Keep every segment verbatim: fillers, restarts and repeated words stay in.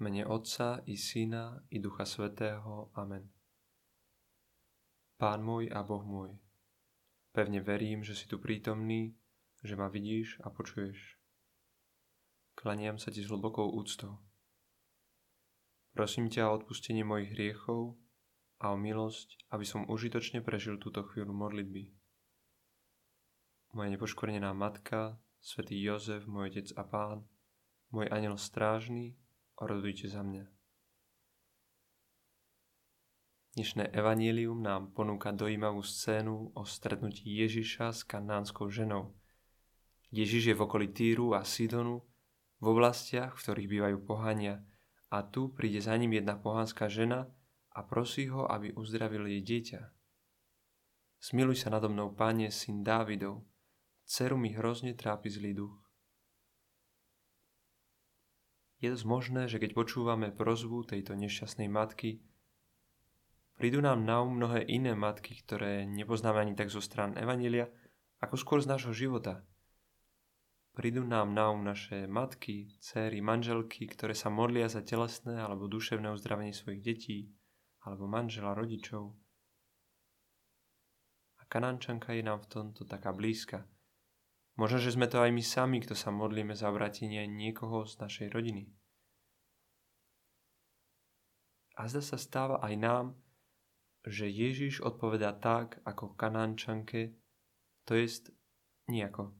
mene Otca i Syna i Ducha Svätého. Amen. Pán môj a Boh môj, pevne verím, že si tu prítomný, že ma vidíš a počuješ. Klaniam sa ti s hlbokou úctou. Prosím ťa o odpustenie mojich hriechov a o milosť, aby som užitočne prežil túto chvíľu modlitby. Moja nepoškvrnená matka, svätý Jozef, môj otec a pán, môj anjel strážny, orodujte za mňa. Dnešné evanjelium nám ponúka dojímavú scénu o stretnutí Ježiša s kanánskou ženou. Ježiš je v okolí Týru a Sidonu, v oblastiach, v ktorých bývajú pohania, a tu príde za ním jedna pohánska žena a prosí ho, aby uzdravil jej dieťa. Smiluj sa nado mnou, Pane, syn Dávidov, dceru mi hrozne trápi zlý duch. Je dosť možné, že keď počúvame prosbu tejto nešťastnej matky, prídu nám na um mnohé iné matky, ktoré nepoznáme ani tak zo strán evanjelia, ako skôr z nášho života. Prídu nám na um naše matky, dcéry, manželky, ktoré sa modlia za telesné alebo duševné uzdravenie svojich detí, alebo manžela, rodičov. A Kanánčanka je nám v tomto taká blízka. Možno, že sme to aj my sami, kto sa modlíme za obrátenie niekoho z našej rodiny. A zda sa stáva aj nám, že Ježiš odpovedá tak, ako Kanánčanke, to jest nijako.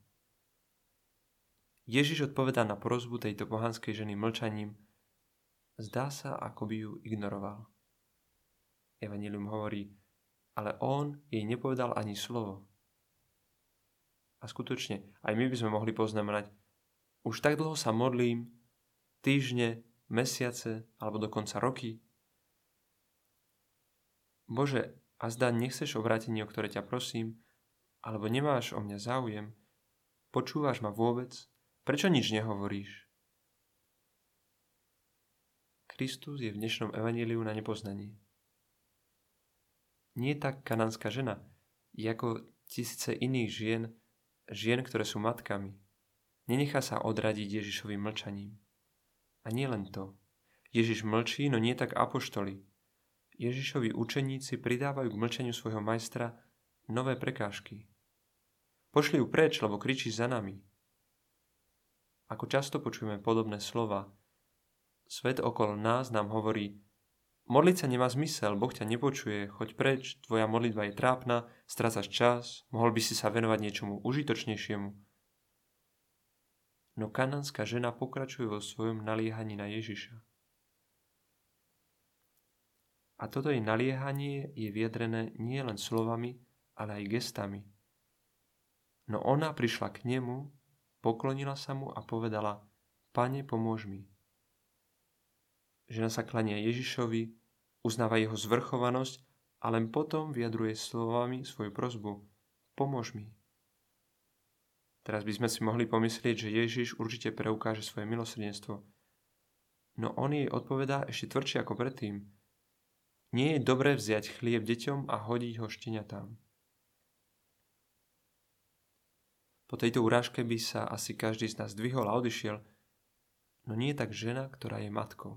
Ježiš odpovedá na prosbu tejto pohanskej ženy mlčaním. Zdá sa, ako by ju ignoroval. Evanjelium hovorí, ale on jej nepovedal ani slovo. A skutočne, aj my by sme mohli poznamenať, už tak dlho sa modlím, týždne, mesiace, alebo dokonca roky. Bože, a zdá nechceš obrátenie, o ktoré ťa prosím, alebo nemáš o mňa záujem, počúvaš ma vôbec, prečo nič nehovoríš? Kristus je v dnešnom evanjeliu na nepoznaní. Nie tak kanánska žena, je ako tisíce iných žien, žien, ktoré sú matkami. Nenechá sa odradiť Ježišovým mlčaním. A nie len to. Ježiš mlčí, no nie tak apoštoli. Ježišovi učeníci pridávajú k mlčaniu svojho majstra nové prekážky. Pošli ju preč, lebo kričí za nami. Ako často počujeme podobné slova, svet okolo nás nám hovorí, modliť sa nemá zmysel, Boh ťa nepočuje, choď preč, tvoja modlitba je trápna, strácaš čas, mohol by si sa venovať niečomu užitočnejšiemu. No kanánska žena pokračuje vo svojom naliehaní na Ježiša. A toto jej naliehanie je vyjadrené nie len slovami, ale aj gestami. No ona prišla k nemu, poklonila sa mu a povedala, Pane, pomôž mi. Žena sa klania Ježišovi, uznáva jeho zvrchovanosť a len potom vyjadruje slovami svoju prosbu. Pomôž mi. Teraz by sme si mohli pomyslieť, že Ježiš určite preukáže svoje milosrdenstvo. No on jej odpovedá ešte tvrdšie ako predtým. Nie je dobré vziať chlieb deťom a hodiť ho šteniatám. Po tejto urážke by sa asi každý z nás zdvihol a odišiel, no nie je tak žena, ktorá je matkou.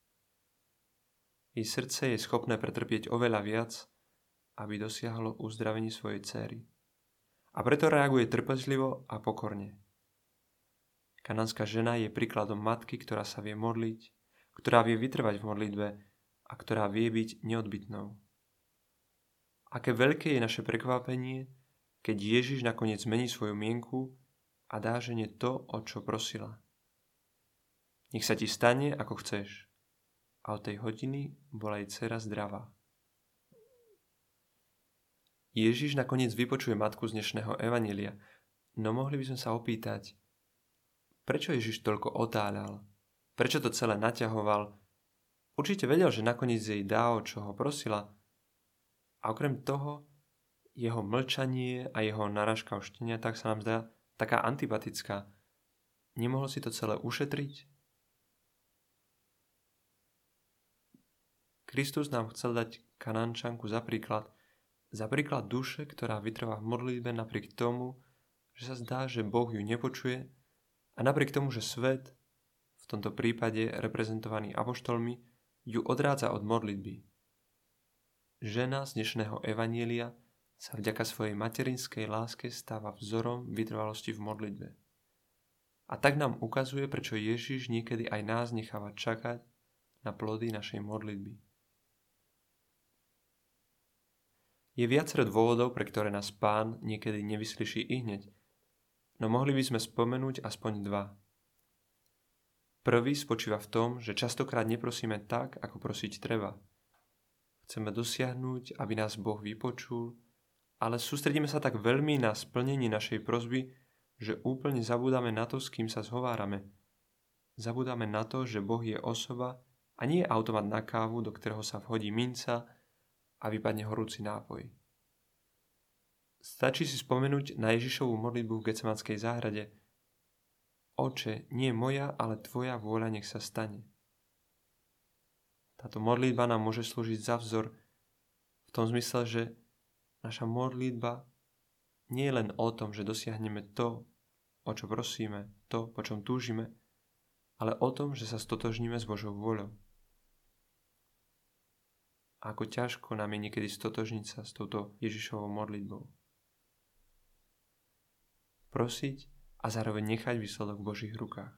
Jej srdce je schopné pretrpieť oveľa viac, aby dosiahlo uzdravenie svojej dcéry. A preto reaguje trpezlivo a pokorne. Kanánska žena je príkladom matky, ktorá sa vie modliť, ktorá vie vytrvať v modlitbe a ktorá vie byť neodbytnou. Aké veľké je naše prekvapenie, keď Ježiš nakoniec zmení svoju mienku a dá žene to, o čo prosila. Nech sa ti stane, ako chceš. A od tej hodiny bola jej dcera zdravá. Ježiš nakoniec vypočuje matku z dnešného evanjelia, no mohli by sme sa opýtať, prečo Ježiš toľko otáľal? Prečo to celé naťahoval? Určite vedel, že nakoniec jej dá, o čo ho prosila. A okrem toho, jeho mlčanie a jeho narážka o šteniatách sa nám zdá taká antipatická. Nemohol si to celé ušetriť? Kristus nám chcel dať Kanánčanku za príklad, za príklad duše, ktorá vytrvá v modlitbe napriek tomu, že sa zdá, že Boh ju nepočuje a napriek tomu, že svet, v v tomto prípade reprezentovaný apoštolmi, ju odrádza od modlitby. Žena z dnešného evanjelia sa vďaka svojej materinskej láske stáva vzorom vytrvalosti v modlitbe. A tak nám ukazuje, prečo Ježiš niekedy aj nás necháva čakať na plody našej modlitby. Je viacero dôvodov, pre ktoré nás Pán niekedy nevyslyší ihneď, no mohli by sme spomenúť aspoň dva. Prvý spočíva v tom, že častokrát neprosíme tak, ako prosiť treba. Chceme dosiahnuť, aby nás Boh vypočul, ale sústredíme sa tak veľmi na splnenie našej prosby, že úplne zabúdame na to, s kým sa zhovárame. Zabúdame na to, že Boh je osoba a nie je automat na kávu, do ktorého sa vhodí minca a vypadne horúci nápoj. Stačí si spomenúť na Ježišovu modlitbu v Getsemanskej záhrade. Oče, nie moja, ale tvoja vôľa nech sa stane. Táto modlitba nám môže slúžiť za vzor v tom zmysle, že naša modlitba nie je len o tom, že dosiahneme to, o čo prosíme, to, po čom túžime, ale o tom, že sa stotožníme s Božou vôľou. A ako ťažko nám je niekedy stotožniť sa s touto Ježišovou modlitbou. Prosiť a zároveň nechať výsledok v Božích rukách.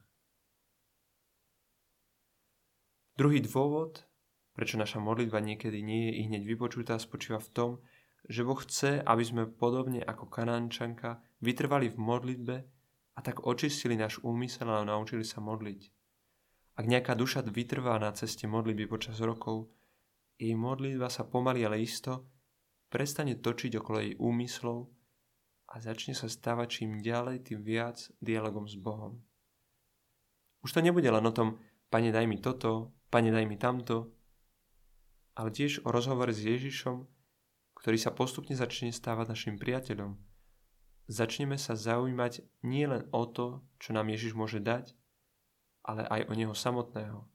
Druhý dôvod, prečo naša modlitba niekedy nie je ihneď vypočutá, spočíva v tom, že Boh chce, aby sme podobne ako Kanánčanka vytrvali v modlitbe a tak očistili náš úmysel a naučili sa modliť. Ak nejaká duša vytrvá na ceste modlitby počas rokov, jej modlitba sa pomaly, ale isto prestane točiť okolo jej úmyslov a začne sa stávať čím ďalej, tým viac dialogom s Bohom. Už to nebude len o tom, Pane, daj mi toto, Pane, daj mi tamto, ale tiež o rozhovore s Ježišom, ktorý sa postupne začne stávať našim priateľom. Začneme sa zaujímať nie len o to, čo nám Ježiš môže dať, ale aj o neho samotného.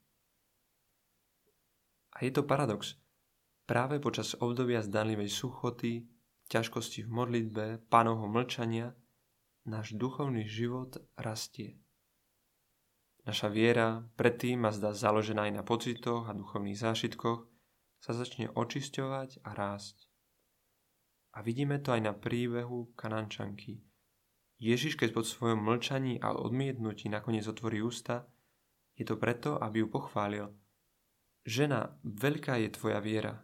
A je to paradox. Práve počas obdobia zdanlivej suchoty, ťažkosti v modlitbe, Pánovho mlčania, náš duchovný život rastie. Naša viera, predtým a zdá založená aj na pocitoch a duchovných zážitkoch, sa začne očisťovať a rásť. A vidíme to aj na príbehu Kanánčanky. Ježiš, keď po svojom mlčaní a odmietnutí nakoniec otvorí ústa, je to preto, aby ju pochválil. Žena, veľká je tvoja viera.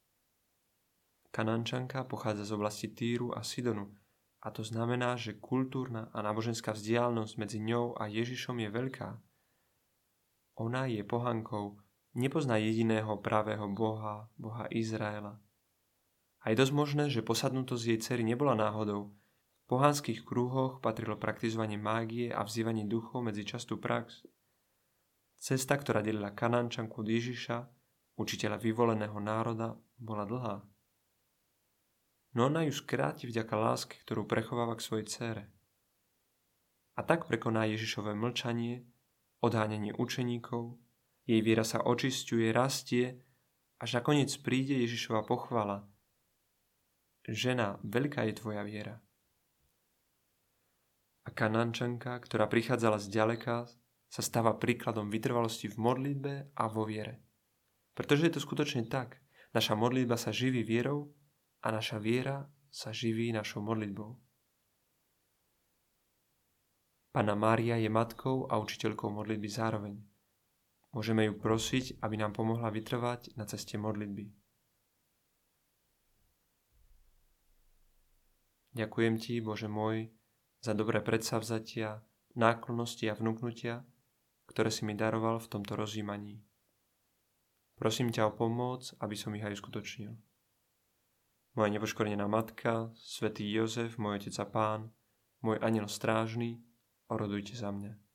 Kanánčanka pochádza z oblasti Týru a Sidonu, a to znamená, že kultúrna a náboženská vzdialenosť medzi ňou a Ježišom je veľká. Ona je pohankou, nepozná jediného pravého Boha, Boha Izraela. A je dosť možné, že posadnutosť jej dcery nebola náhodou. V pohanských krúhoch patrilo praktizovanie mágie a vzývanie duchov medzi častú prax. Cesta, ktorá delila Kanánčanku od Ježiša, učiteľa vyvoleného národa, bola dlhá. No ona ju skráti vďaka láske, ktorú prechováva k svojej dcére. A tak prekoná Ježišové mlčanie, odháňanie učeníkov, jej viera sa očisťuje, rastie, až nakoniec príde Ježišova pochvala. Žena, veľká je tvoja viera. A Kanánčanka, ktorá prichádzala zďaleka, sa stáva príkladom vytrvalosti v modlitbe a vo viere. Pretože je to skutočne tak. Naša modlitba sa živí vierou a naša viera sa živí našou modlitbou. Panna Mária je matkou a učiteľkou modlitby zároveň. Môžeme ju prosiť, aby nám pomohla vytrvať na ceste modlitby. Ďakujem ti, Bože môj, za dobré predsavzatia, náklonnosti a vnúknutia, ktoré si mi daroval v tomto rozjímaní. Prosím ťa o pomoc, aby som ich aj uskutočnil. Moja nepoškvrnená matka, svätý Jozef, môj otec a pán, môj anjel strážny, orodujte za mňa.